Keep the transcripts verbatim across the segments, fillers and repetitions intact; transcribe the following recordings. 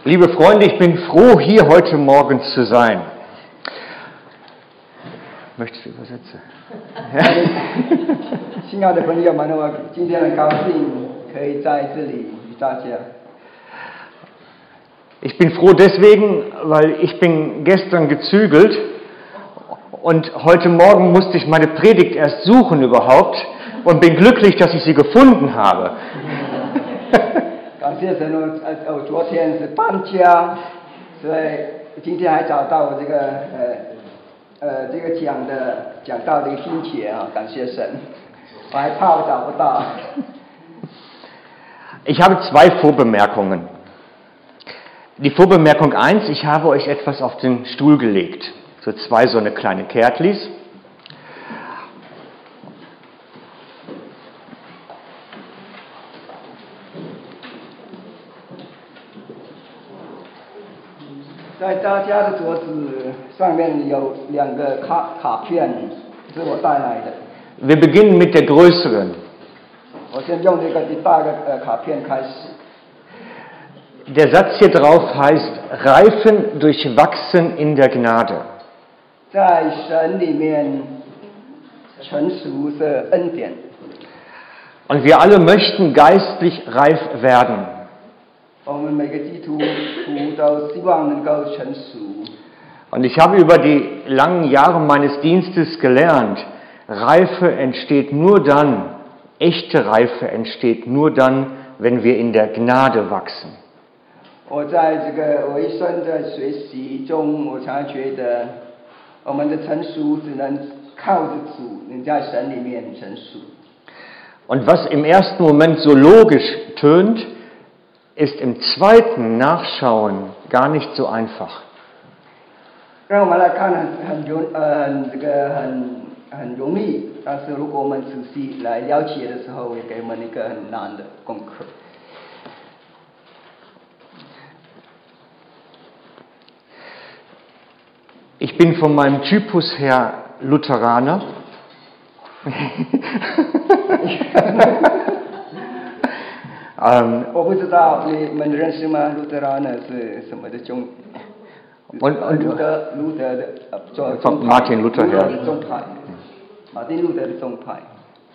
Liebe Freunde, ich bin froh, hier heute Morgen zu sein. Möchtest du übersetzen? 亲爱的朋友们，我今天很高兴可以在这里与大家。 Ich bin froh deswegen, weil ich bin gestern gezügelt und heute Morgen musste ich meine Predigt erst suchen überhaupt und bin glücklich, dass ich sie gefunden habe. 感谢神，我呃，我昨天是搬家，所以今天还找到我这个呃呃这个讲的讲到的一个心结啊，感谢神，我还怕我找不到。 Ich habe zwei Vorbemerkungen. Die Vorbemerkung eins, ich habe euch etwas auf den Stuhl gelegt. So zwei so eine kleine Kärtlis. 在大家的桌子上面有两个卡卡片，是我带来的。 Wir beginnen mit der größeren. 我先用这个第大个呃卡片开始。 Der Satz hier drauf heißt, reifen durch Wachsen in der Gnade. 在神里面成熟的恩典。 Und wir alle möchten geistlich reif werden. 我们每个基督徒都希望能够成熟。 Und ich habe über die langen Jahre meines Dienstes gelernt, Reife entsteht nur dann, echte Reife entsteht nur dann, wenn wir in der Gnade wachsen. 我在这个我一生的学习中，我常常觉得，我们的成熟只能靠着主，能在神里面成熟。 Und was im ersten Moment so logisch tönt, ist im zweiten Nachschauen gar nicht so einfach. 让我们来看很很容呃很这个很很容易，但是如果我们仔细来了解的时候，也给我们一个很难的功课。 Ich bin von meinem Typus her Lutheraner. ähm, 我不知道你们认识吗？路德拉呢是什么的宗？ Und, und, 路德路德的呃宗 von Martin Luther her. 宗派，马丁路德的宗派。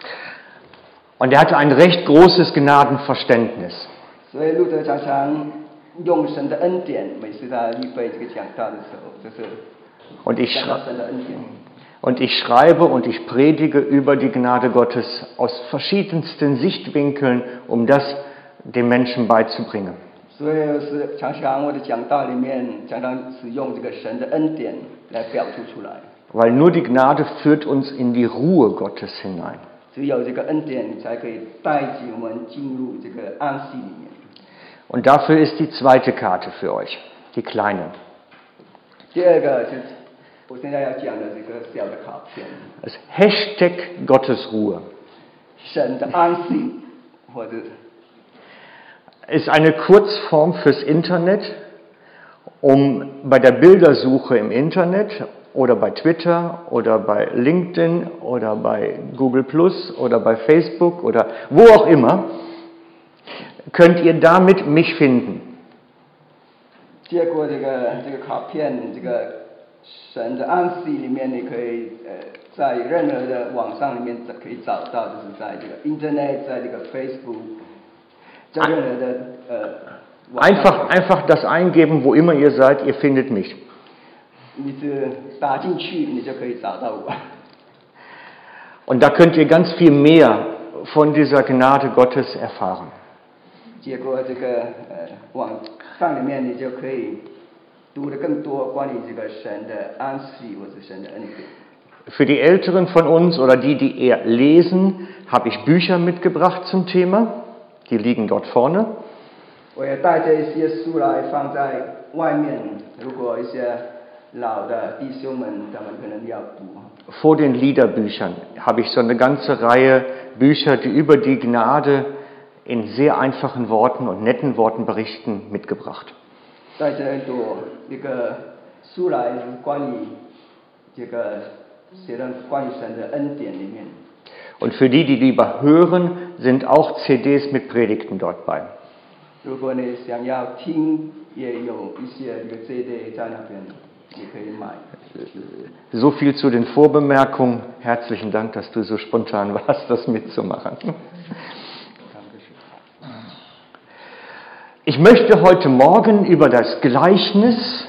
Und er hatte ein recht großes Gnadenverständnis. 所以路德常常用神的恩典，每次他预备这个讲道的时候，就是 Und ich, 讲到神的恩典。 und ich schreibe und ich predige über die Gnade Gottes aus verschiedensten Sichtwinkeln, um das den Menschen beizubringen. 所以是常常我的讲道里面常常使用这个神的恩典来表述出来。 Weil nur die Gnade führt uns in die Ruhe Gottes hinein. 只有这个恩典才可以带领我们进入这个安息里面。 Und dafür ist die zweite Karte für euch, die kleine. 第二个就是我现在要讲的这个小的卡片。 Das Hashtag Gottes Ruhe. 神的安息，或者 Ist eine Kurzform fürs Internet, um bei der Bildersuche im Internet oder bei Twitter oder bei LinkedIn oder bei Google Plus oder bei Facebook oder wo auch immer, könnt ihr damit mich finden. 接过这个这个卡片，这个神的安息里面，你可以呃在任何的网上里面可以找到，就是在这个 Internet， 在这个 Facebook， 在任何的呃。 Einfach, einfach das eingeben, wo immer ihr seid, ihr findet mich. 你只打进去，你就可以找到我。 Und da könnt ihr ganz viel mehr von dieser Gnade Gottes erfahren. 结果这个呃网上里面，你就可以读得更多关于这个神的安息或者神的恩典。 Für die Älteren von uns oder die, die eher lesen, habe ich Bücher mitgebracht zum Thema. Die liegen dort vorne. 我也带着一些书来放在外面，如果一些老的弟兄们他们可能要读。 Vor den Liederbüchern habe ich so eine ganze Reihe Bücher, die über die Gnade in sehr einfachen Worten und netten Worten berichten, mitgebracht. 在这一朵一个书来关于这个写的关于神的恩典里面。 Und für die, die lieber hören, sind auch C Ds mit Predigten dort bei. 如果你想要听，也有一些这个 C D 在那边，你可以买。 So viel zu den Vorbemerkungen. Herzlichen Dank, dass du so spontan warst, das mitzumachen. Ich möchte heute Morgen über das Gleichnis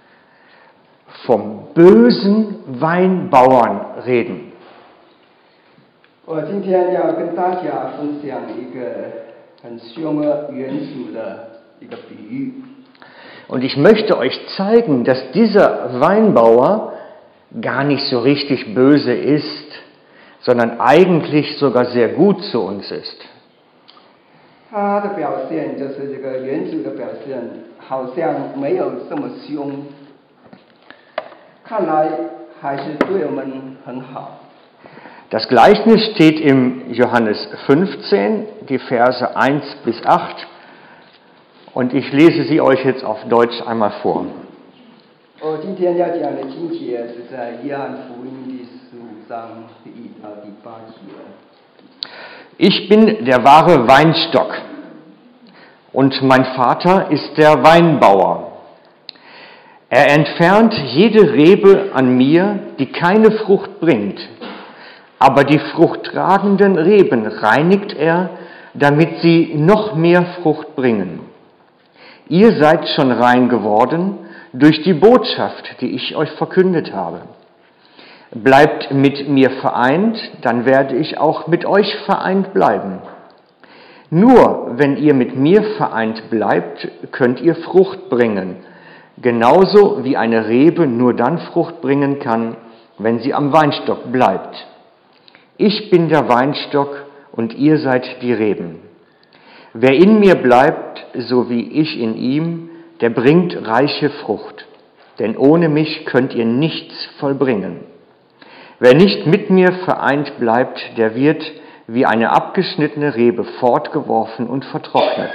vom bösen Weinbauern reden. 我今天要跟大家分享一个很凶恶原主的一个比喻。 Und ich möchte euch zeigen, dass dieser Weinbauer gar nicht so richtig böse ist, sondern eigentlich sogar sehr gut zu uns ist. 他的表现就是这个原主的表现，好像没有这么凶，看来还是对我们很好。 Das Gleichnis steht im Johannes fünfzehn, die Verse eins bis acht, und ich lese sie euch jetzt auf Deutsch einmal vor. 我今天要讲的经节是在约翰福音第十五章第一到第八节。 Ich bin der wahre Weinstock und mein Vater ist der Weinbauer. Er entfernt jede Rebe an mir, die keine Frucht bringt, aber die fruchttragenden Reben reinigt er, damit sie noch mehr Frucht bringen. Ihr seid schon rein geworden durch die Botschaft, die ich euch verkündet habe. Bleibt mit mir vereint, dann werde ich auch mit euch vereint bleiben. Nur wenn ihr mit mir vereint bleibt, könnt ihr Frucht bringen, genauso wie eine Rebe nur dann Frucht bringen kann, wenn sie am Weinstock bleibt. Ich bin der Weinstock und ihr seid die Reben. Wer in mir bleibt, so wie ich in ihm, der bringt reiche Frucht, denn ohne mich könnt ihr nichts vollbringen. Wer nicht mit mir vereint bleibt, der wird wie eine abgeschnittene Rebe fortgeworfen und vertrocknet.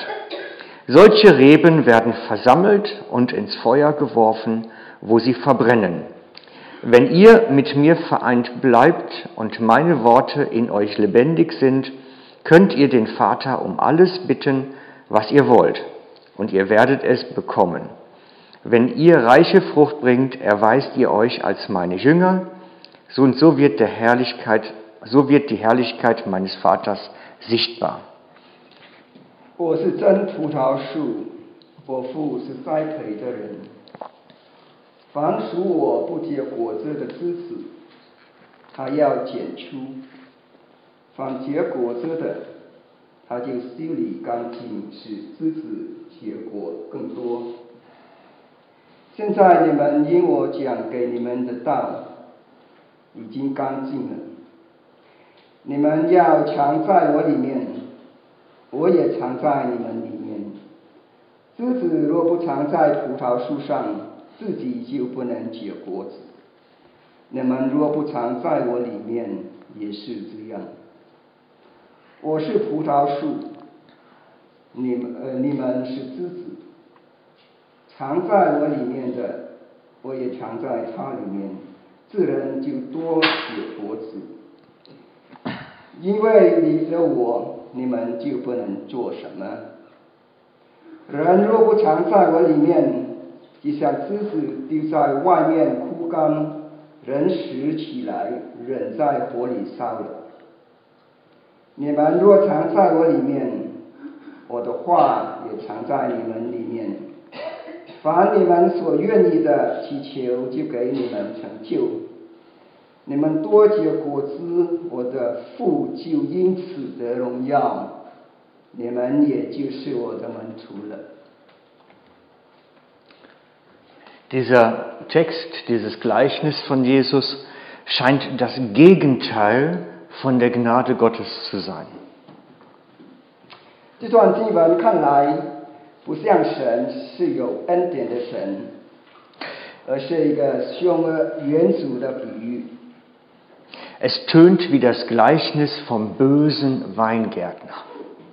Solche Reben werden versammelt und ins Feuer geworfen, wo sie verbrennen. Wenn ihr mit mir vereint bleibt und meine Worte in euch lebendig sind, könnt ihr den Vater um alles bitten, was ihr wollt, und ihr werdet es bekommen. Wenn ihr reiche Frucht bringt, erweist ihr euch als meine Jünger, so und so wird, der Herrlichkeit, so wird die Herrlichkeit meines Vaters sichtbar. 我是真葡萄树，我父是栽培的人。凡属我不结果子的枝子，他要剪出；凡结果子的，他就修理干净，使枝子结果更多。现在你们因我讲给你们的道已经干净了，你们要常在我里面，我也常在你们里面。枝子若不常在葡萄树上，自己就不能结果子。你们若不常在我里面，也是这样。我是葡萄树，你们呃你们是枝子。常在我里面的，我也常在他里面。自然就多结果子，因为离了我，你们就不能做什么。人若不常在我里面，就像枝子丢在外面枯干，人拾起来扔在火里烧了。你们若常在我里面，我的话也常在你们里面。凡你们所愿意的祈求，就给你们成就。你们多结果子，我的父就因此得荣耀，你们也就是我的门徒了。 Dieser Text, dieses Gleichnis von Jesus scheint das Gegenteil von der Gnade Gottes zu sein. 这段经文看来不像神是有恩典的神，而是一个凶恶原主的比喻。 Es tönt wie das Gleichnis vom bösen Weingärtner.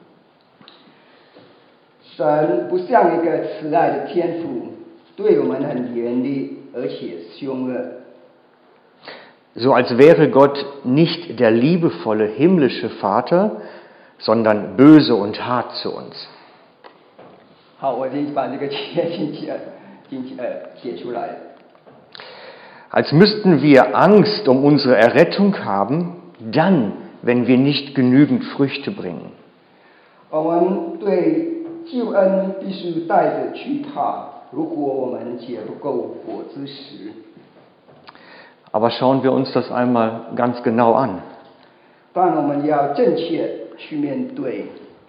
神不像一个慈爱的天父，对我们很严厉，而且凶恶。 So als wäre Gott nicht der liebevolle himmlische Vater, sondern böse und hart zu uns. 好，我已经把这个切进去，进去呃写出来了。 Als müssten wir Angst um unsere Errettung haben, dann, wenn wir nicht genügend Früchte bringen. 我们对救恩必须带着惧怕，如果我们结不够果子时。 Aber schauen wir uns das einmal ganz genau an. 但我们要正确去面对。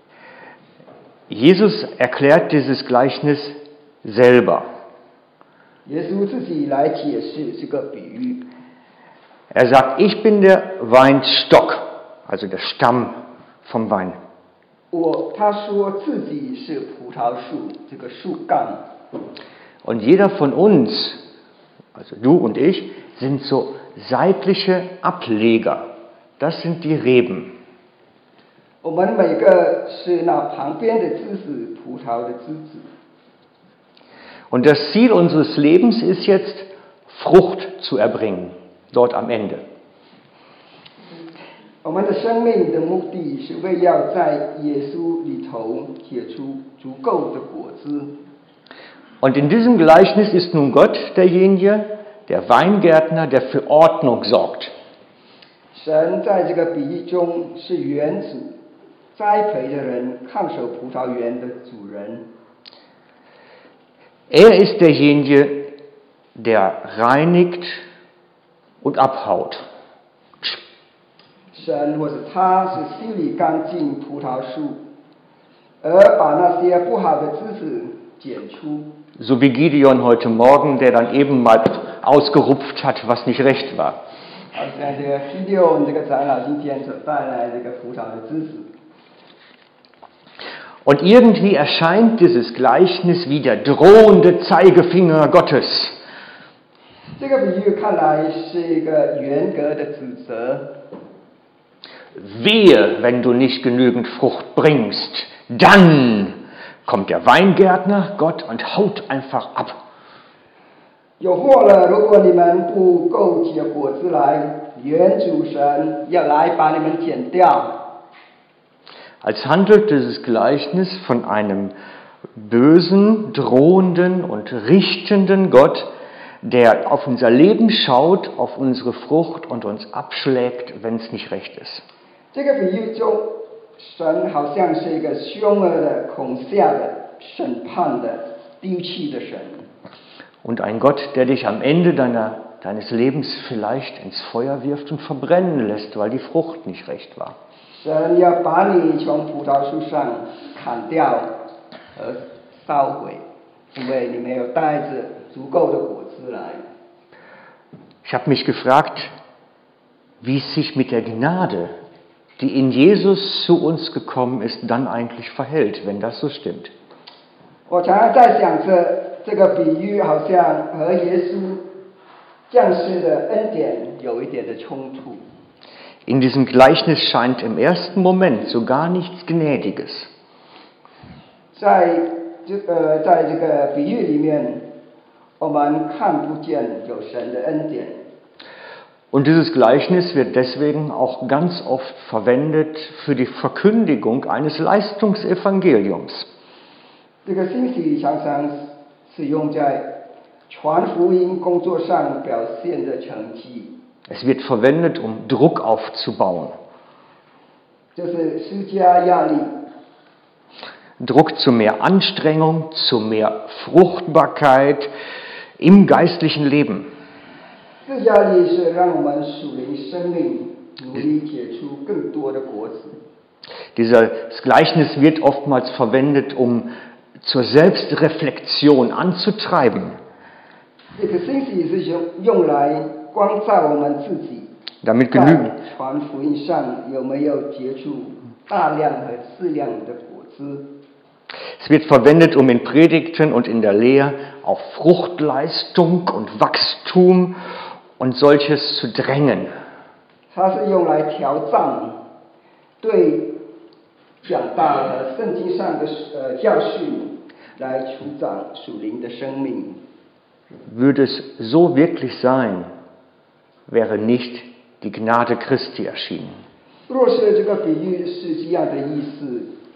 Jesus erklärt dieses Gleichnis selber. 耶稣自己来解释这个比喻。 Er sagt, ich bin der Weinstock, also der Stamm vom Wein. 我他说自己是葡萄树，这个树干。 Und jeder von uns, also du und ich, sind so seitliche Ableger. Das sind die Reben. 我们每个是那旁边的枝子，葡萄的枝子。 Und das Ziel unseres Lebens ist jetzt, Frucht zu erbringen, dort am Ende. 我们的生命的目的是为要在耶稣里头结出足够的果子。 Und in diesem Gleichnis ist nun Gott derjenige, der Weingärtner, der für Ordnung sorgt. 神在这个比喻中是园主，栽培的人，看守葡萄园的主人。 Er ist derjenige, der reinigt und abhaut. 神或者他是心里干净葡萄树，而把那些不好的枝子剪出。 So wie Gideon heute Morgen, der dann eben mal ausgerupft hat, was nicht recht war. 好像这个第六这个长老今天所带来这个葡萄的枝子。 Und irgendwie erscheint dieses Gleichnis wie der drohende Zeigefinger Gottes. 这个比喻看来是一个严格的指责。 Wehe, wenn du nicht genügend Frucht bringst, dann kommt der Weingärtner, Gott, und haut einfach ab. 有祸了！如果你们不够结果子来，原主神要来把你们剪掉。 Als handelt dieses Gleichnis von einem bösen, drohenden und richtenden Gott, der auf unser Leben schaut, auf unsere Frucht und uns abschlägt, wenn es nicht recht ist. 这个比喻中，神好像是一个凶恶的、恐吓的、审判的、丢弃的神。 Und ein Gott, der dich am Ende deiner, deines Lebens vielleicht ins Feuer wirft und verbrennen lässt, weil die Frucht nicht recht war. 神要把你从葡萄树上砍掉而烧毁，因为你没有带着足够的果子来。 Ich habe mich gefragt, wie es sich mit der Gnade, die in Jesus zu uns gekommen ist, dann eigentlich verhält, wenn das so stimmt. 我常常在想着，这个比喻好像和耶稣降世的恩典有一点的冲突。 In diesem Gleichnis scheint im ersten Moment so gar nichts Gnädiges. 在这呃，在这个比喻里面，我们看不见有神的恩典。 Und dieses Gleichnis wird deswegen auch ganz oft verwendet für die Verkündigung eines Leistungsevangeliums. 这个信息常常使用在传福音工作上表现的成绩。 Es wird verwendet, um Druck aufzubauen. 就是施加压力。 Druck zu mehr Anstrengung, zu mehr Fruchtbarkeit im geistlichen Leben. 这压力是让我们属灵生命努力结出更多的果子。 Dieses Gleichnis wird oftmals verwendet, um zur Selbstreflexion anzutreiben. 这个信息是用用来光照我们自己， Damit 在 genügen, 传福音上有没有结出大量和质量的果子。 es wird verwendet, um in Predigten und in der Lehre auf Fruchtleistung und Wachstum und solches zu drängen. 它是用来调战对讲道和圣经上的呃教训来除长属灵的生命。 Würde es so wirklich sein, wäre nicht die Gnade Christi erschienen. 若是这个比喻是这样的意思，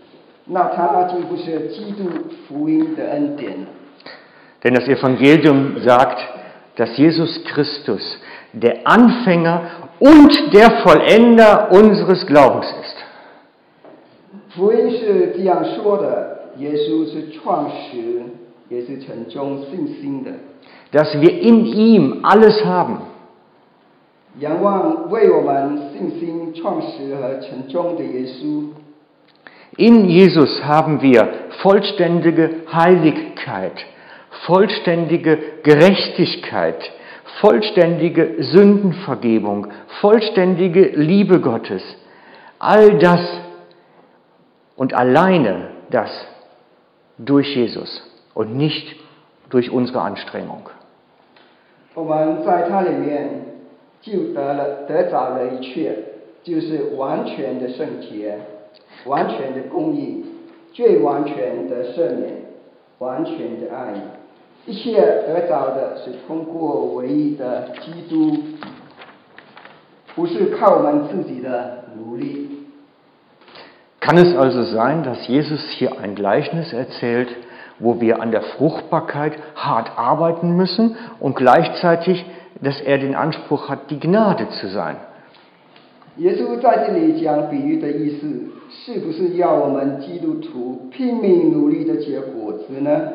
那它就不是基督福音的恩典。 Denn das Evangelium sagt, dass Jesus Christus der Anfänger und der Vollender unseres Glaubens ist. 福音是这样说的：耶稣是创始，也是成终信心的。 Dass wir in ihm alles haben. 仰望为我们信心创始和成终的耶稣。 In Jesus haben wir vollständige Heiligkeit, vollständige Gerechtigkeit, vollständige Sündenvergebung, vollständige Liebe Gottes. All das und alleine das durch Jesus und nicht durch unsere Anstrengung. 我们在他里面就得了得着了一切，就是完全的圣洁，完全的公义，最完全的赦免，完全的爱。一切得着的是通过唯一的基督，不是靠我们自己的努力。 Kann es also sein, dass Jesus hier ein Gleichnis erzählt, wo wir an der Fruchtbarkeit hart arbeiten müssen und gleichzeitig, dass er den Anspruch hat, die Gnade zu sein? 耶稣在这里讲比喻的意思，是不是要我们基督徒拼命努力的结果子呢？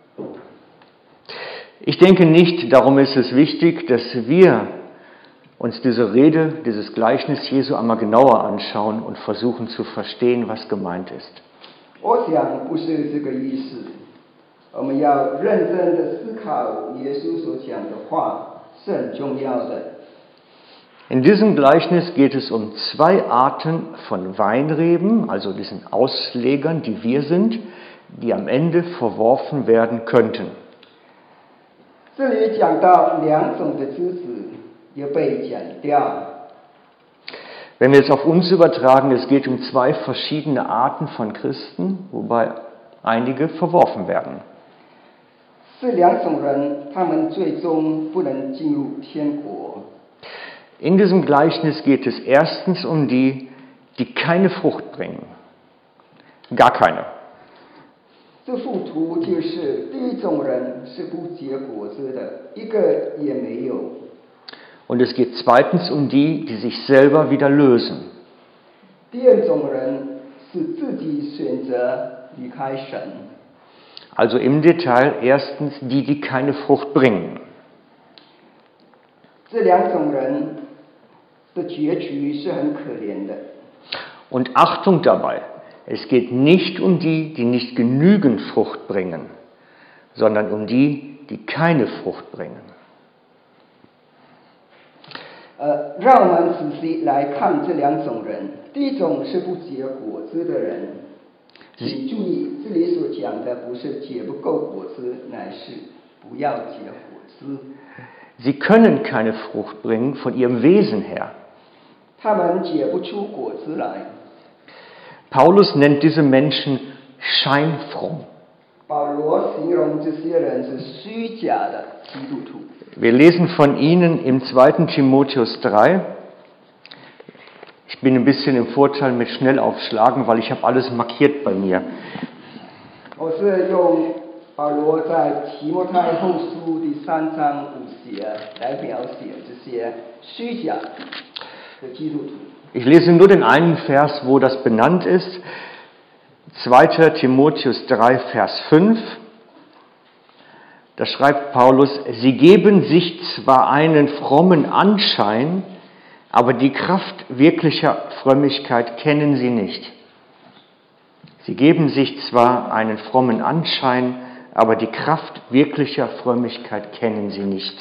Ich denke nicht, darum ist es wichtig, dass wir uns diese Rede, dieses Gleichnis Jesu einmal genauer anschauen und versuchen zu verstehen, was gemeint ist. 我想不是这个意思，我们要认真的思考耶稣所讲的话是很重要的。 In diesem Gleichnis geht es um zwei Arten von Weinreben, also diesen Auslegern, die wir sind, die am Ende verworfen werden könnten. 这里讲到两种的枝子要被剪掉。 Wenn wir jetzt auf uns übertragen, es geht um zwei verschiedene Arten von Christen, wobei einige verworfen werden. 是两种人，他们最终不能进入天国。 In diesem Gleichnis geht es erstens um die, die keine Frucht bringen. Gar keine. 这幅图就是第一种人是不结果子的，一个也没有。 Und es geht zweitens um die, die sich selber wieder lösen. 第二种人是自己选择离开神。 Also im Detail erstens die, die keine Frucht bringen. 这两种人的结局是很可怜的。 Und Achtung dabei, es geht nicht um die, die nicht genügend Frucht bringen, sondern um die, die keine Frucht bringen. 呃，让我们仔细来看这两种人。第一种是不结果子的人，请注意，这里所讲的不是结不够果子，乃是不要结果子。 Sie können keine Frucht bringen von ihrem Wesen her. 他们结不出果子来。 Paulus nennt diese Menschen scheinfromm. 保罗形容这些人是虚假的基督徒。 Wir lesen von ihnen im zweiten Timotheus drei. Ich bin ein bisschen im Vorteil mit Schnellaufschlagen, weil ich habe alles markiert bei mir. 我是用保罗在提摩太后书第三章五节来描写这些虚假的基督徒。 Ich lese nur den einen Vers, wo das benannt ist. zweiter Timotheus drei, Vers fünf. Da schreibt Paulus, sie geben sich zwar einen frommen Anschein, aber die Kraft wirklicher Frömmigkeit kennen sie nicht. Sie geben sich zwar einen frommen Anschein, aber die Kraft wirklicher Frömmigkeit kennen sie nicht.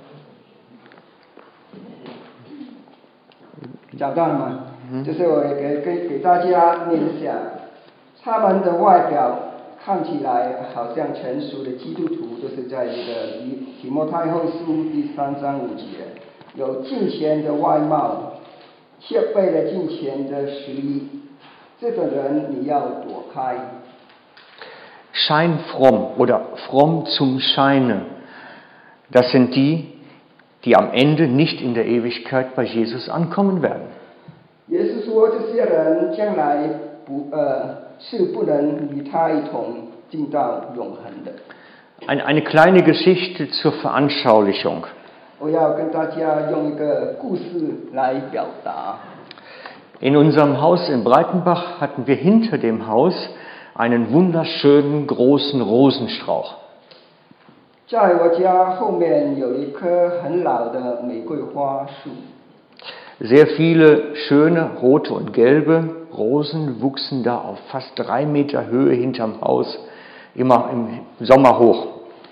找到了吗？就是我给给给大家念一下，他们的外表看起来好像成熟的基督徒，就是在这个提摩太后书第三章五节，有敬虔的外貌，却背了敬虔的实力，这个人你要躲开。 Scheinfromm oder fromm zum Scheine, das sind die, die am Ende nicht in der Ewigkeit bei Jesus ankommen werden. 也是说，这些人将来不呃是不能与他一同进到永恒的。 Ein, eine kleine Geschichte zur Veranschaulichung. 我要跟大家用一个故事来表达。 In unserem Haus in Breitenbach hatten wir hinter dem Haus einen wunderschönen großen Rosenstrauch. 在我家后面有一棵很老的玫瑰花树。 Sehr viele schöne rote und gelbe Rosen wuchsen da auf fast drei Meter Höhe hinterm Haus, immer im Sommer hoch.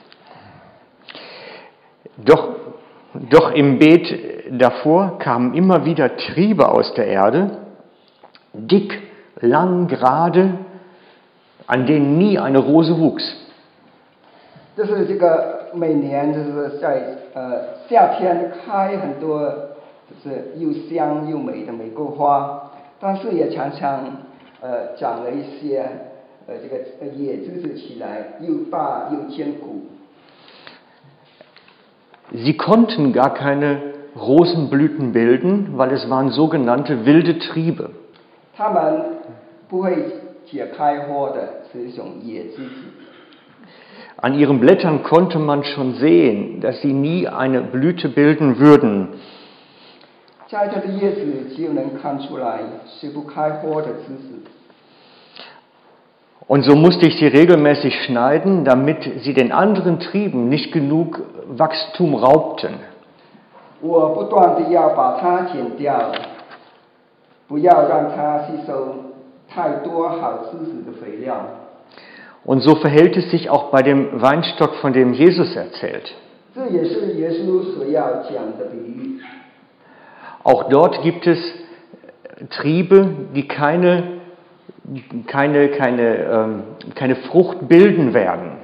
Doch, doch im Beet davor kamen immer wieder Triebe aus der Erde, dick, lang, gerade, an denen nie eine Rose wuchs. 就是这个每年就是在呃夏天开很多就是又香又美的玫瑰花，但是也常常呃长了一些呃这个野枝子起来，又大又坚固。 Sie konnten gar keine Rosenblüten bilden, weil es waren sogenannte wilde Triebe. 它们不会结开花的，是一种野枝子。 An ihren Blättern konnte man schon sehen, dass sie nie eine Blüte bilden würden. 在它的叶子就能看出来是不开花的枝子。 Und so musste ich sie regelmäßig schneiden, damit sie den anderen Trieben nicht genug Wachstum raubten. 我不断地要把它剪掉，不要让它吸收太多好枝子的肥料。 Und so verhält es sich auch bei dem Weinstock, von dem Jesus erzählt. 这也是耶稣所要讲的比喻。 Auch dort gibt es Triebe, die keine, keine, keine, ähm, keine Frucht bilden werden.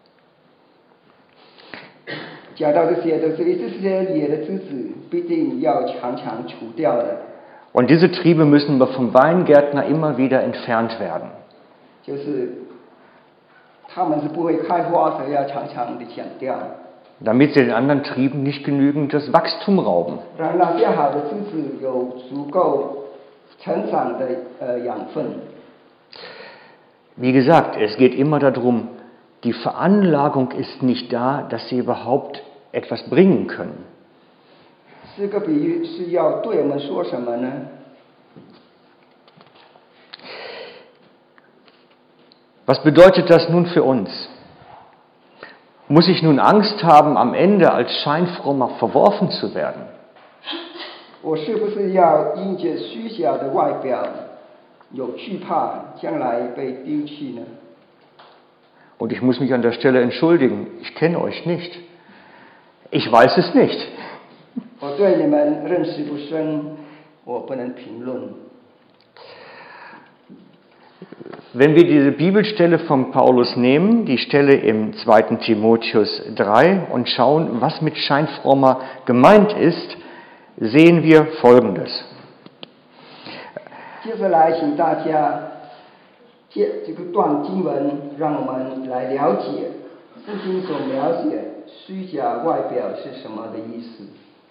讲到这些都是这些野的枝子必定要常常除掉的。 Und diese Triebe müssen vom Weingärtner immer wieder entfernt werden. 就是它们是不会开花，所以要常常的剪掉。 Damit sie den anderen Trieben nicht genügend das Wachstum rauben. 让那些好的枝子有足够成长的呃养分。 Wie gesagt, es geht immer darum, die Veranlagung ist nicht da, dass sie überhaupt etwas bringen können. 这个比喻是要对我们说什么呢？ Was bedeutet das nun für uns? Muss ich nun Angst haben, am Ende als Scheinfrommer verworfen zu werden? 我是不是要因着虚假的外表有惧怕，将来被丢弃呢？ Und ich muss mich an der Stelle entschuldigen, ich kenne euch nicht. Ich weiß es nicht. 我对你们认识不深，我不能评论。 Wenn wir diese Bibelstelle von Paulus nehmen, die Stelle im zweiten Timotheus drei, und schauen, was mit Scheinfrommer gemeint ist, sehen wir Folgendes. 接下来，请大家借这个段经文，让我们来了解圣经所描写虚假外表是什么的意思。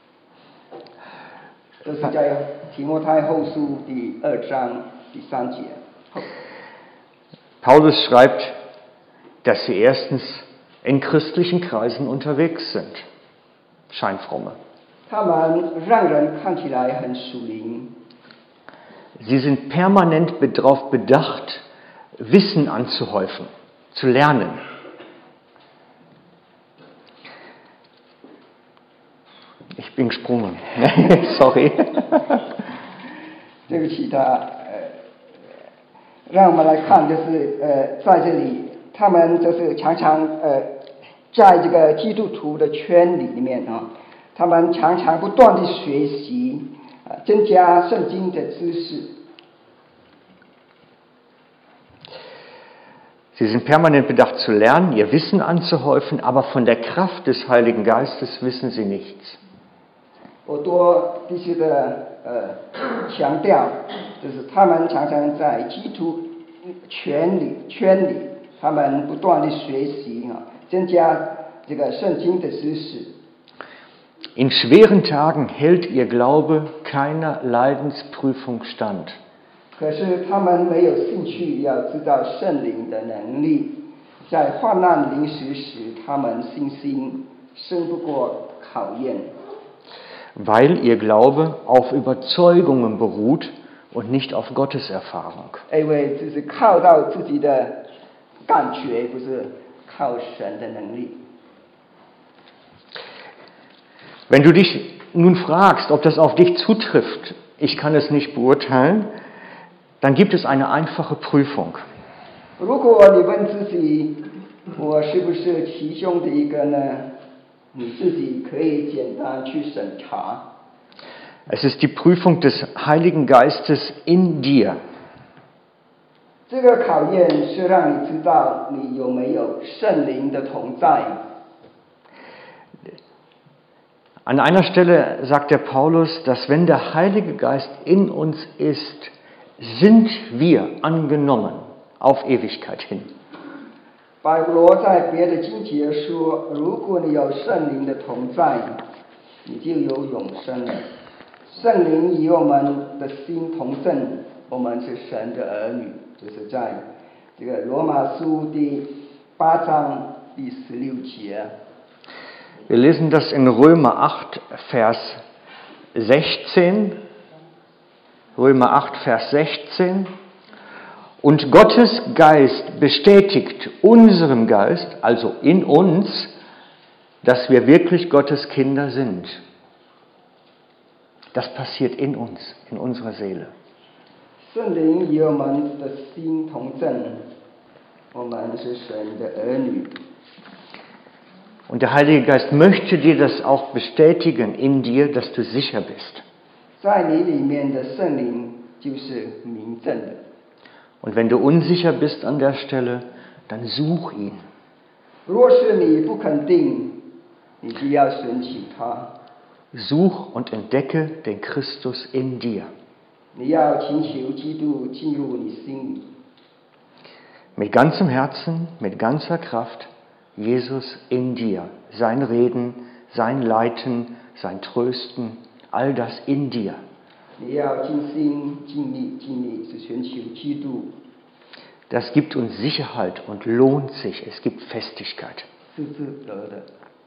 这是在提摩太后书第二章第三节。 Paulus schreibt, dass sie erstens in christlichen Kreisen unterwegs sind, Scheinfromme. 他们让人看起来很属灵。 Sie sind permanent darauf bedacht, Wissen anzuhäufen, zu lernen. Ich bin gesprungen. Sorry. 对不起，他呃，让我们来看，就是呃，在这里，他们就是常常呃，在这个基督徒的圈里里面啊，他们常常不断的学习，啊、呃，增加圣经的知识。 Sie sind permanent bedacht zu lernen, ihr Wissen anzuhäufen, aber von der Kraft des Heiligen Geistes wissen sie nichts. 我多必须的呃强调，就是他们常常在基督圈里圈里，他们不断的学习啊，增加这个圣经的知识。 In schweren Tagen hält ihr Glaube keiner Leidensprüfung stand. 可是他们没有兴趣要知道圣灵的能力，在患难临时时，他们信心胜不过考验。 Weil ihr Glaube auf Überzeugungen beruht und nicht auf Gottes Erfahrung. 因为这是靠到自己的感觉，不是靠神的能力。 Wenn du dich nun fragst, ob das auf dich zutrifft, ich kann es nicht beurteilen, dann gibt es eine einfache Prüfung. 如果你问自己，我是不是其中的一个呢？你自己可以简单去审查。 Es ist die Prüfung des Heiligen Geistes in dir. 这个考验是让你知道你有没有圣灵的同在。 An einer Stelle sagt der Paulus, dass wenn der Heilige Geist in uns ist, sind wir angenommen auf Ewigkeit hin. 保罗在别的经节说，如果你有圣灵的同在，你就有永生了。圣灵与我们的心同证，我们是神的儿女，就是在这个罗马书第八章第十六节。 Wir lesen das in Römer acht, Vers sechzehn. Römer acht, Vers sechzehn. Und Gottes Geist bestätigt unserem Geist, also in uns, dass wir wirklich Gottes Kinder sind. Das passiert in uns, in unserer Seele. 圣灵与我们的心同证，我们是神的儿女。 Und der Heilige Geist möchte dir das auch bestätigen in dir, dass du sicher bist. 在你里面的圣灵就是明证的。 Und wenn du unsicher bist an der Stelle, dann such ihn. 若是你不肯定，你就要寻求他。 Such und entdecke den Christus in dir. 你要请求基督进入你心里。 Mit ganzem Herzen, mit ganzer Kraft, Jesus in dir. Sein Reden, sein Leiten, sein Trösten, all das in dir. 你要尽心尽力尽力去寻求基督。 Das gibt uns Sicherheit und lohnt sich. Es gibt Festigkeit. 是值得的。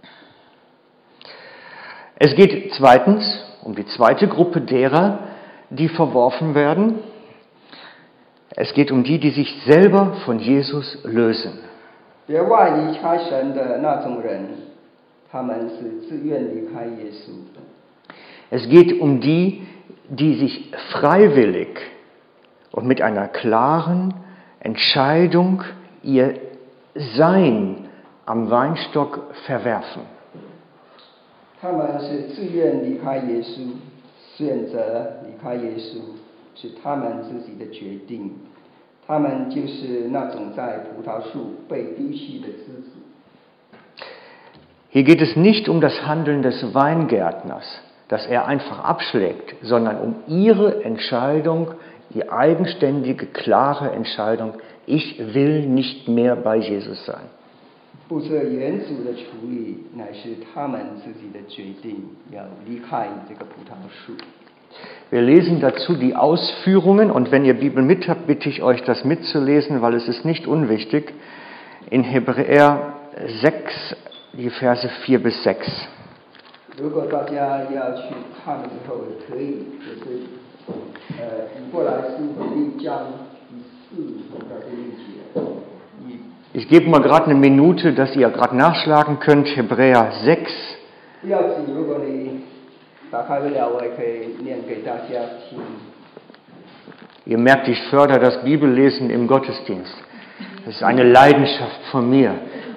Es geht zweitens um die zweite Gruppe derer, die verworfen werden. Es geht um die, die sich selber von Jesus lösen. 别外离开神的那种人，他们是自愿离开耶稣的。 Es geht um die, die sich freiwillig und mit einer klaren Entscheidung ihr Sein am Weinstock verwerfen. 他们是自愿离开耶稣，选择离开耶稣，是他们自己的决定。他们就是那种在葡萄树被丢弃的枝子。 Hier geht es nicht um das Handeln des Weingärtners, das er einfach abschlägt, sondern um ihre Entscheidung, die eigenständige, klare Entscheidung, ich will nicht mehr bei Jesus sein. 不是原主的处理，乃是他们自己的决定，要离开这个葡萄树。 Wir lesen dazu die Ausführungen und wenn ihr Bibel mit habt, bitte ich euch, das mitzulesen, weil es ist nicht unwichtig. In Hebräer sechs, die Verse vier bis sechs. 如果大家要去看的时候，可以就是呃，以过来书第六章第四到第六节。 Ich gebe mal gerade eine Minute, dass ihr gerade nachschlagen könnt. Hebräer sechs. 不要紧，如果你打开不了，我也可以念给大家听。 Ihr merkt, ich fördere das Bibellesen im Gottesdienst. Das ist eine Leidenschaft von mir.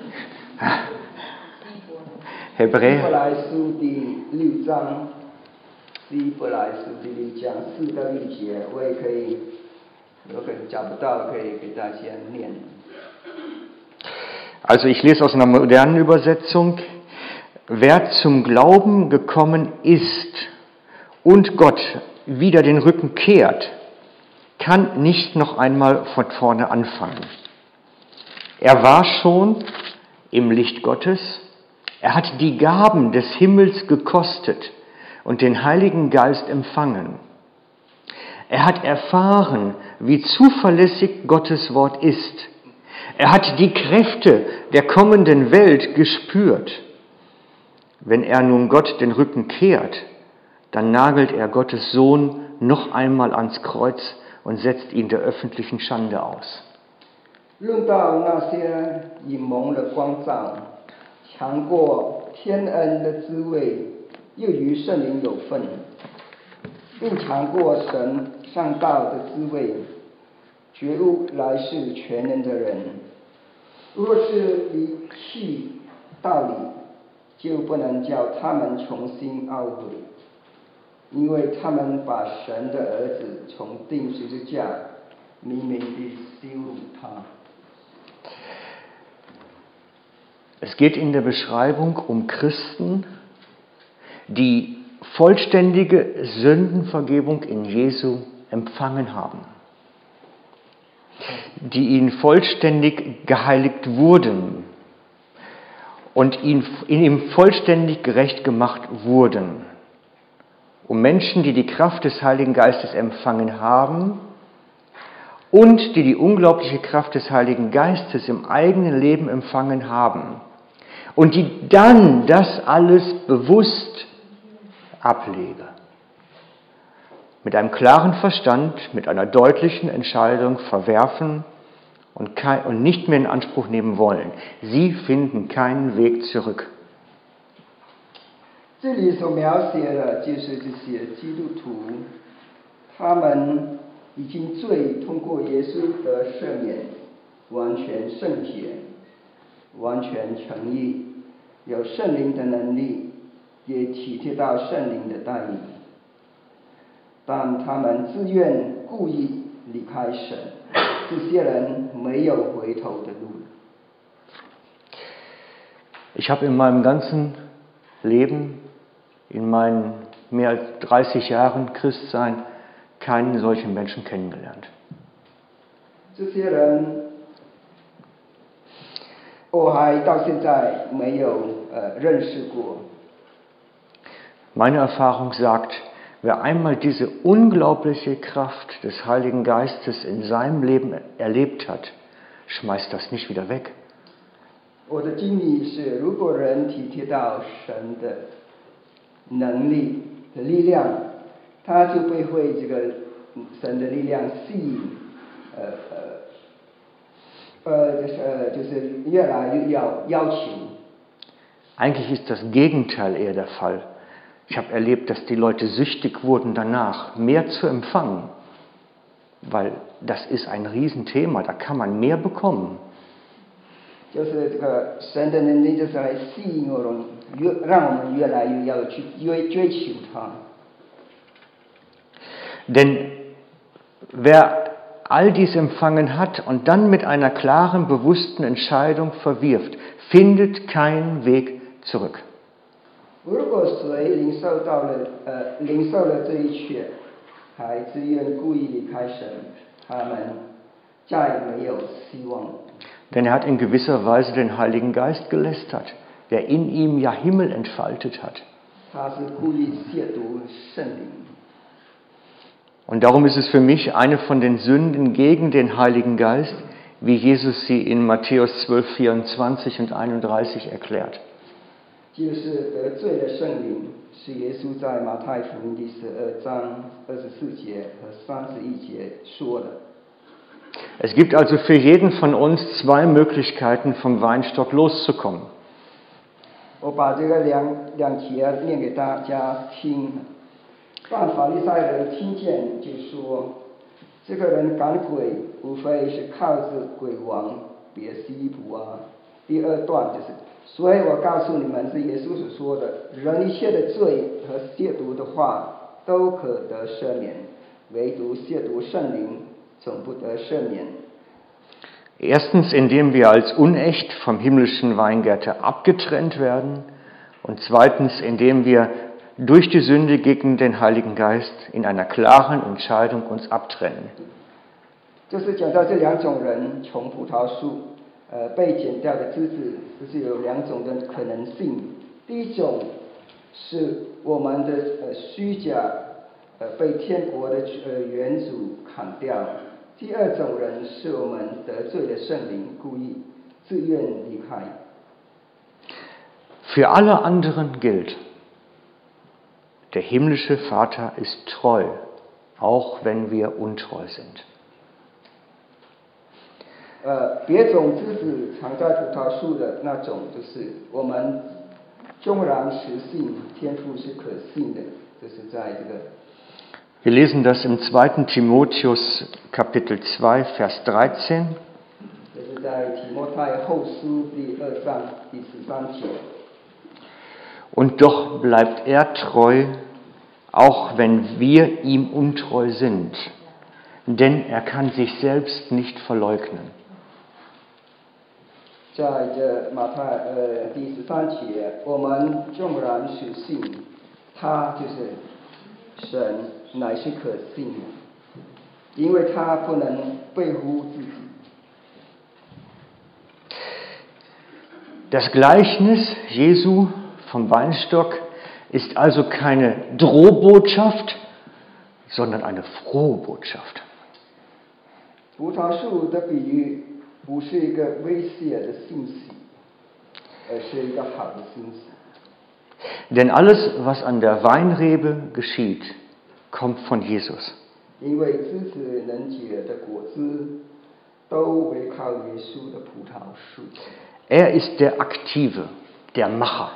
Hebräer. 希伯来书第六章，希伯来书第六章四到六节，我也可以，如果找不到，可以给大家念。 Also ich lese aus einer modernen Übersetzung. Wer zum Glauben gekommen ist und Gott wieder den Rücken kehrt, kann nicht noch einmal von vorne anfangen. Er war schon im Licht Gottes, er hat die Gaben des Himmels gekostet und den Heiligen Geist empfangen. Er hat erfahren, wie zuverlässig Gottes Wort ist. Er hat die Kräfte der kommenden Welt gespürt. Wenn er nun Gott den Rücken kehrt, dann nagelt er Gottes Sohn noch einmal ans Kreuz und setzt ihn der öffentlichen Schande aus. 论到那些隐蒙的光照，强过天恩的滋味，又与圣灵有份，并强过神上道的滋味，觉悟来世全能的人，若是离弃道理，就不能叫他们重新懊悔，因为他们把神的儿子从钉十字架明明地羞辱他。 Es geht in der Beschreibung um Christen, die vollständige Sündenvergebung in Jesu empfangen haben, die ihnen vollständig geheiligt wurden und in ihm vollständig gerecht gemacht wurden. Um Menschen, die die Kraft des Heiligen Geistes empfangen haben und die die unglaubliche Kraft des Heiligen Geistes im eigenen Leben empfangen haben und die dann das alles bewusst ablegen. Mit einem klaren Verstand, mit einer deutlichen Entscheidung verwerfen und, kein, und nicht mehr in Anspruch nehmen wollen. Sie finden keinen Weg zurück. 这里所描写的就是这些基督徒，他们已经罪通过耶稣得赦免，完全圣洁，完全诚意，有圣灵的能力，也体贴到圣灵的带领，但他们自愿故意离开神，这些人没有回头的路。 Ich habe in meinem ganzen Leben, in meinen mehr als dreißig Jahren Christsein, keinen solchen Menschen kennengelernt. 这些人，我还到现在没有呃认识过。 Meine Erfahrung sagt, wer einmal diese unglaubliche Kraft des Heiligen Geistes in seinem Leben erlebt hat, schmeißt das nicht wieder weg. 我的经历是，如果人体贴到神的能力的力量，他就会被这个神的力量吸引，呃呃呃，就是呃就是越来越要要求。 Eigentlich ist das Gegenteil eher der Fall. Ich habe erlebt, dass die Leute süchtig wurden danach, mehr zu empfangen, weil das ist ein Riesenthema, da kann man mehr bekommen. 就是这个神的能力，就是来吸引我们，越让我们越来越要去追追求它。 Denn wer all dies empfangen hat und dann mit einer klaren, bewussten Entscheidung verwirft, findet keinen Weg zurück. 如果谁领受到了呃领受了这一切，还自愿故意离开神，他们再没有希望。 Denn er hat in gewisser Weise den Heiligen Geist gelästert, der in ihm ja Himmel entfaltet hat. 他是故意亵渎圣灵。 Und darum ist es für mich eine von den Sünden gegen den Heiligen Geist, wie Jesus sie in Matthäus zwölf, vierundzwanzig und einunddreißig erklärt. 就是得罪了圣灵，是耶稣在马太福音第十二章二十四节和三十一节说的。 Es gibt also für jeden von uns zwei Möglichkeiten, vom Weinstock loszukommen. 我把这个两两节念给大家听。但法利赛人听见就说：“这个人赶鬼，无非是靠着鬼王别西卜啊。”第二段就是，所以我告诉你们，是耶稣所说的，人一切的罪和亵渎的话都可得赦免，唯独亵渎圣灵总不得赦免。 Erstens, indem wir als unecht vom himmlischen Weingärte abgetrennt werden. Und zweitens, indem wir durch die Sünde gegen den Heiligen Geist in einer klaren Entscheidung uns abtrennen. 就是讲到这两种人，从葡萄树呃被剪掉的枝子，就是有两种的可能性。第一种是我们的呃虚假呃被天国的呃原主砍掉。第二种人是我们得罪了圣灵，故意自愿离开。 Für alle anderen gilt, der himmlische Vater ist treu, auch wenn wir untreu sind. 呃，别种枝子藏在葡萄树的那种，就是我们纵然实信，天父是可信的，就是在这个。 Wir lesen das im zweiten Timotheus Kapitel zwei, Vers dreizehn. 这是在提摩太后书第二章第十三节。 Und doch bleibt er treu, auch wenn wir ihm untreu sind, denn er kann sich selbst nicht verleugnen. 在这马太呃第十三节，我们纵然实信，他就是神乃是可信的，因为他不能背乎自己。 Das Gleichnis Jesu vom Weinstock ist also keine Drohbotschaft, sondern eine frohe Botschaft. 葡萄树的比喻不是一个威胁的信息，而是一个好的信息。 Denn alles, was an der Weinrebe geschieht, kommt von Jesus. 因为枝子能结的果子，都围靠耶稣的葡萄树。 Er ist der Aktive, der Macher.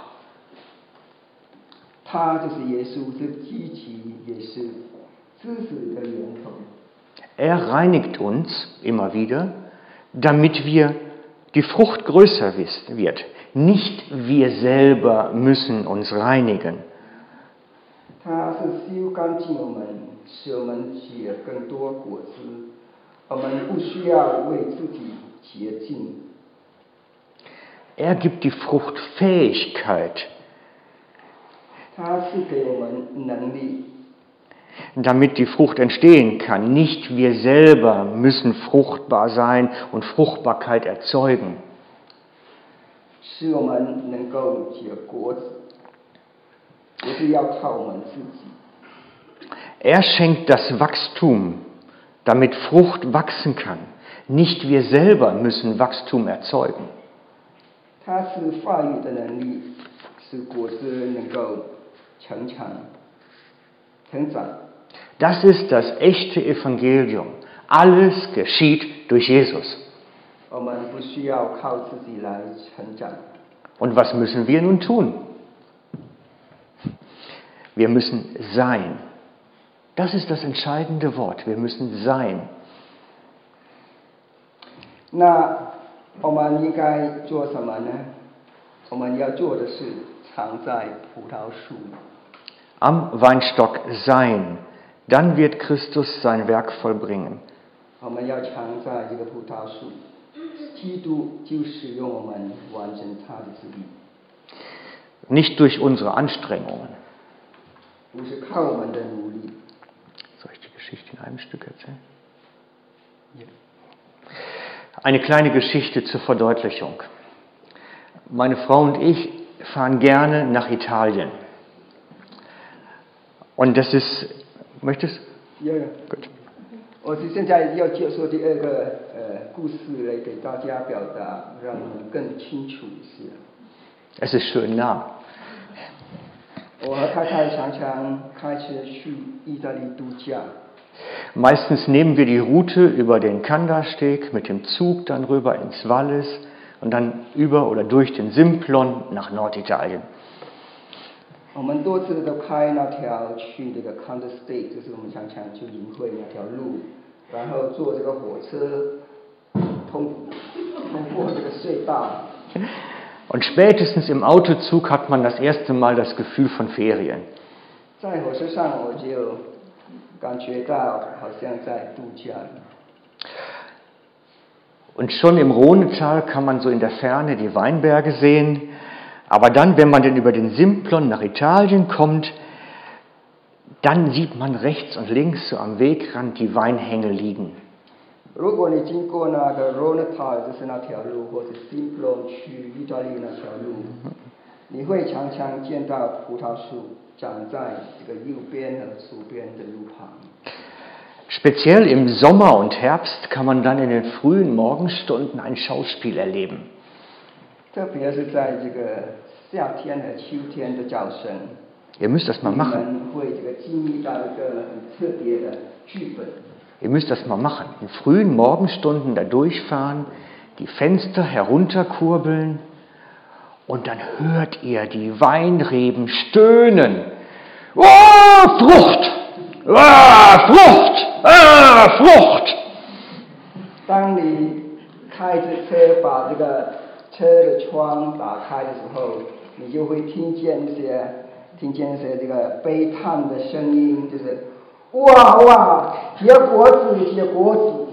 他就是耶稣，是积极，也是知识的源头。 Er reinigt uns immer wieder, damit wir die Frucht größer wird. Nicht wir selber müssen uns reinigen. 他是修干净我们，使我们结更多果子。我们不需要为自己洁净。 Er gibt die Fruchtfähigkeit, 他是给我们能力， damit die Frucht entstehen kann. Nicht wir selber müssen fruchtbar sein und Fruchtbarkeit erzeugen. 使我们能够结果子，不是要靠我们自己。 Er schenkt das Wachstum, damit Frucht wachsen kann. Nicht wir selber müssen Wachstum erzeugen. 他是发育的能力，使果子能够成长、成长。 Das ist das echte Evangelium. Alles geschieht durch Jesus. 我们不需要靠自己来成长。 Und was müssen wir nun tun? Wir müssen sein. Das ist das entscheidende Wort. Wir müssen sein. 那我们应该做什么呢？我们要做的是藏在葡萄树。 Am Weinstock sein. Dann wird Christus sein Werk vollbringen. 我们要藏在这个葡萄树，基督就使用我们完成他的旨意。 Nicht durch unsere Anstrengungen. 不是靠我们的努力。 Soll ich die Geschichte in einem Stück erzählen? Ja. Eine kleine Geschichte zur Verdeutlichung. Meine Frau und ich fahren gerne nach Italien. Und das ist, möchtest du? Ja, ja. Gut. 我是现在要介绍第二个呃故事来给大家表达，让我们更清楚一些。 Es ist schön nah. 我和太太常常开车去意大利度假。 Meistens nehmen wir die Route über den Kandersteg mit dem Zug dann rüber ins Wallis und dann über oder durch den Simplon nach Norditalien. 我们多次都开那条去这个 Kandersteg， 就是我们常常去营会那条路，然后坐这个火车通通过这个隧道。 Und spätestens im Autozug hat man das erste Mal das Gefühl von Ferien. 在火车上我就感觉到好像在度假。 Und schon im Rhonetal kann man so in der Ferne die Weinberge sehen. Aber dann, wenn man dann über den Simplon nach Italien kommt, dann sieht man rechts und links so am Wegrand die Weinhänge liegen. 如果你经过那个 Rhonetal， 就是那条路，或者 Simplon 去意大利那条路， 你会常常见到葡萄树长在这个右边和左边的路旁。 Speziell im Sommer und Herbst kann man dann in den frühen Morgenstunden ein Schauspiel erleben. 特别是在这个夏天和秋天的早晨， Ihr müsst das mal 你 machen. 们会这个经历到一个很特别的剧本。 Ihr müsst das mal machen. In frühen Morgenstunden da durchfahren, die Fenster herunterkurbeln und dann hört ihr die Weinreben stöhnen. Oh, Frucht! Ah, Frucht! Ah, Frucht! 当你开着车把这个车的窗打开的时候，你就会听见一些听见一些这个悲叹的声音，就是哇哇，结果子，结果子。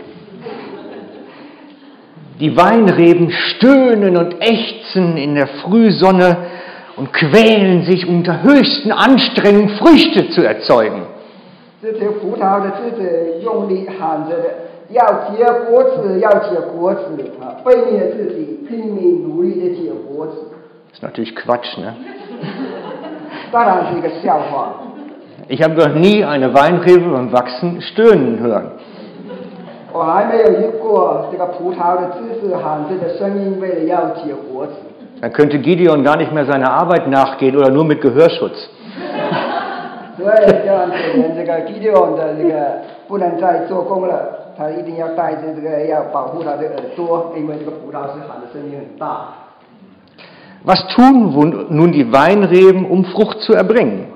Die Weinreben stöhnen und ächzen in der Frühsonne und quälen sich unter höchsten Anstrengungen, Früchte zu erzeugen. 这些葡萄的枝子用力喊着的，要结果子，要结果子啊！背灭自己，拼命努力的结果子。 Das ist natürlich Quatsch, ne? 当然是一个笑话。 Ich habe noch nie eine Weinrebe beim Wachsen stöhnen hören. 我还没有遇过这个葡萄的枝子喊着的声音，为了要结果子。 Dann könnte Gideon gar nicht mehr seiner Arbeit nachgehen oder nur mit Gehörschutz. 所以这样可能这个 Gideon 的这个不能再做工了，他一定要带着这个要保护他的耳朵，因为这个葡萄是喊的声音很大。 Was tun nun die Weinreben, um Frucht zu erbringen?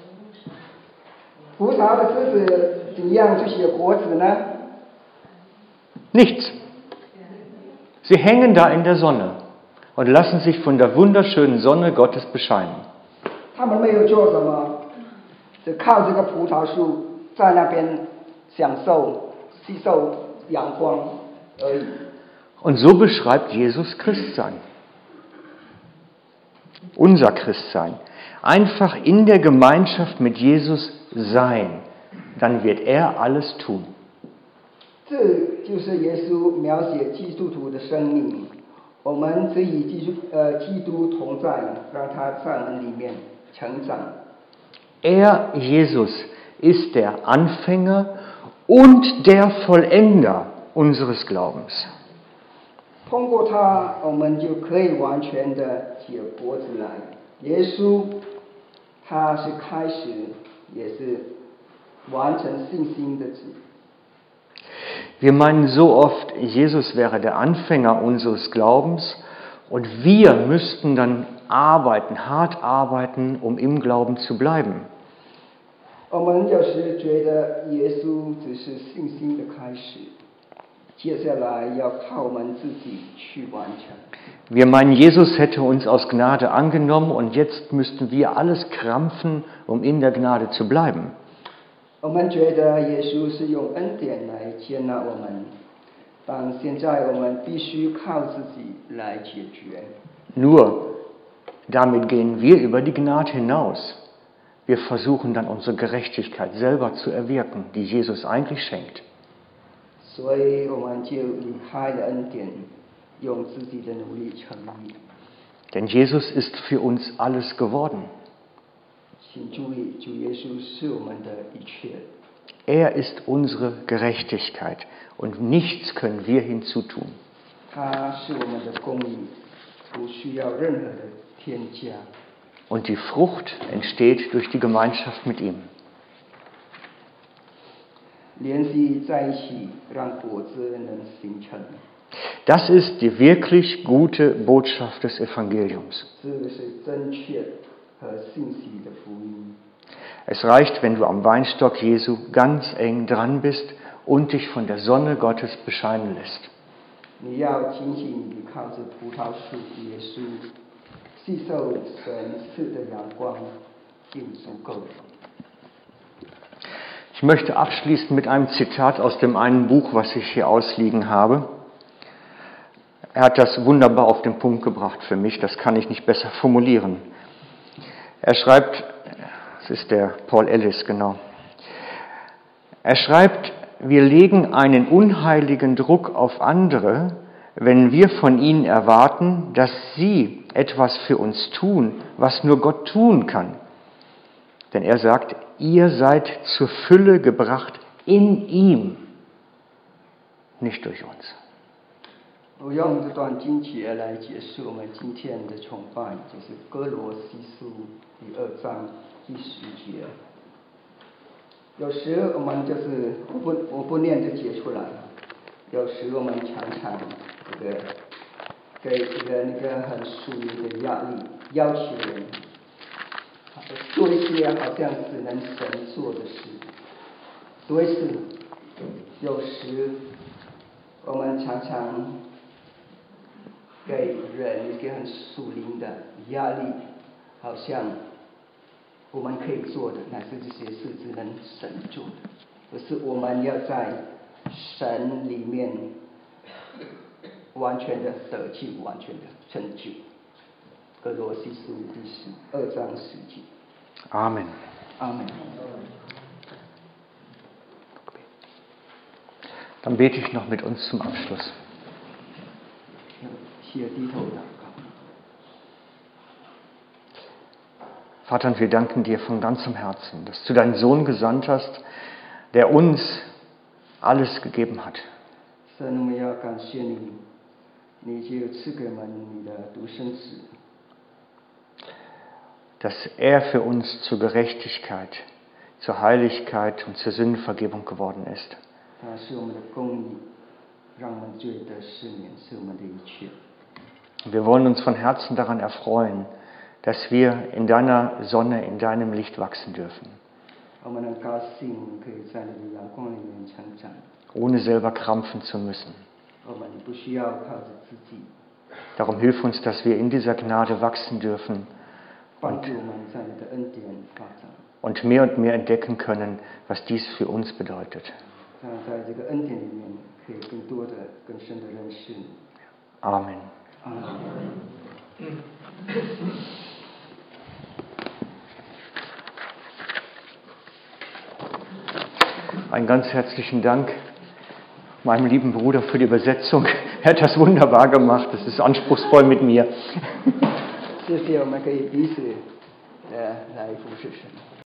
葡萄的枝子怎样去结果子呢？ Nichts. Sie hängen da in der Sonne und lassen sich von der wunderschönen Sonne Gottes bescheinen. 他们没有做什么，只靠这个葡萄树在那边享受、吸收阳光而已。 Und so beschreibt Jesus Christsein. Unser Christsein. Einfach in der Gemeinschaft mit Jesus sein. Dann wird er alles tun. 这就是耶稣描写基督徒的生命。我们只与基督呃基督同在，让他在我们里面成长。 Er, Jesus, ist der Anfänger und der Vollender unseres Glaubens. 通过他，我们就可以完全的结果子来。耶稣，他是开始，也是完成信心的子。 Wir meinen so oft, Jesus wäre der Anfänger unseres Glaubens und wir müssten dann arbeiten, hart arbeiten, um im Glauben zu bleiben. 我们有时觉得耶稣只是信心的开始，接下来要靠我们自己去完成。 Wir meinen, Jesus hätte uns aus Gnade angenommen und jetzt müssten wir alles krampfen, um in der Gnade zu bleiben. 我们觉得耶稣是用恩典来接纳我们，但现在我们必须靠自己来解决。 Nur, damit gehen wir über die Gnade hinaus. Wir versuchen dann unsere Gerechtigkeit selber zu erwirken, die Jesus eigentlich schenkt. 所以我们就离开了恩典，用自己的努力成义。 Denn Jesus ist für uns alles geworden. 请注意，主耶稣是我们的一切。 Er ist unsere Gerechtigkeit und nichts können wir hinzutun. 他是我们的公义，不需要任何的添加。 Und die Frucht entsteht durch die Gemeinschaft mit ihm. 联系在一起，让果子能形成。 Das ist die wirklich gute Botschaft des Evangeliums. 这是正确和信息的福音。 Es reicht, wenn du am Weinstock Jesu ganz eng dran bist und dich von der Sonne Gottes bescheinen lässt. 你要紧紧地靠着葡萄树耶稣，吸受神赐的阳光，就足够了。 Ich möchte abschließen mit einem Zitat aus dem einen Buch, was ich hier ausliegen habe. Er hat das wunderbar auf den Punkt gebracht für mich, das kann ich nicht besser formulieren. Er schreibt, das ist der Paul Ellis, genau. Er schreibt, wir legen einen unheiligen Druck auf andere, wenn wir von ihnen erwarten, dass sie etwas für uns tun, was nur Gott tun kann. Denn er sagt, ihr seid zur Fülle gebracht in ihm, nicht durch uns. 我用这段经节来解释我们今天的崇拜，就是哥罗西书第二章第十节。有时我们就是我不我不念这节出来，有时我们常常这个给这个那个很疏离的压力，要求人做一些好像只能神做的事，所以是有时我们常常给人一个很疏离的压力，好像我们可以做的乃是这些事只能神做的，可是我们要在神里面完全的得救，完全的成就。哥罗西书第十二章十节。 Amen. Amen. Dann bete ich noch mit uns zum Abschluss. Hier die Tote. Vater, und wir danken dir von ganzem Herzen, dass du deinen Sohn gesandt hast, der uns alles gegeben hat. 神，我们要感谢你，你就赐给我们你的独生子。 Dass er für uns zur Gerechtigkeit, zur Heiligkeit und zur Sündenvergebung geworden ist. 他是我们的公义，让我们罪得赦免，是我们的一切。 Und wir wollen uns von Herzen daran erfreuen, dass wir in deiner Sonne, in deinem Licht wachsen dürfen. 我们很高兴可以在你的阳光里面成长。 Ohne selber krampfen zu müssen. 我们不需要靠着自己。 Darum hilf uns, dass wir in dieser Gnade wachsen dürfen. Und, und mehr und mehr entdecken können, was dies für uns bedeutet. Amen. Amen. Einen ganz herzlichen Dank meinem lieben Bruder für die Übersetzung. Er hat das wunderbar gemacht. Das ist anspruchsvoll mit mir. 谢谢，我们可以彼此呃来服侍神。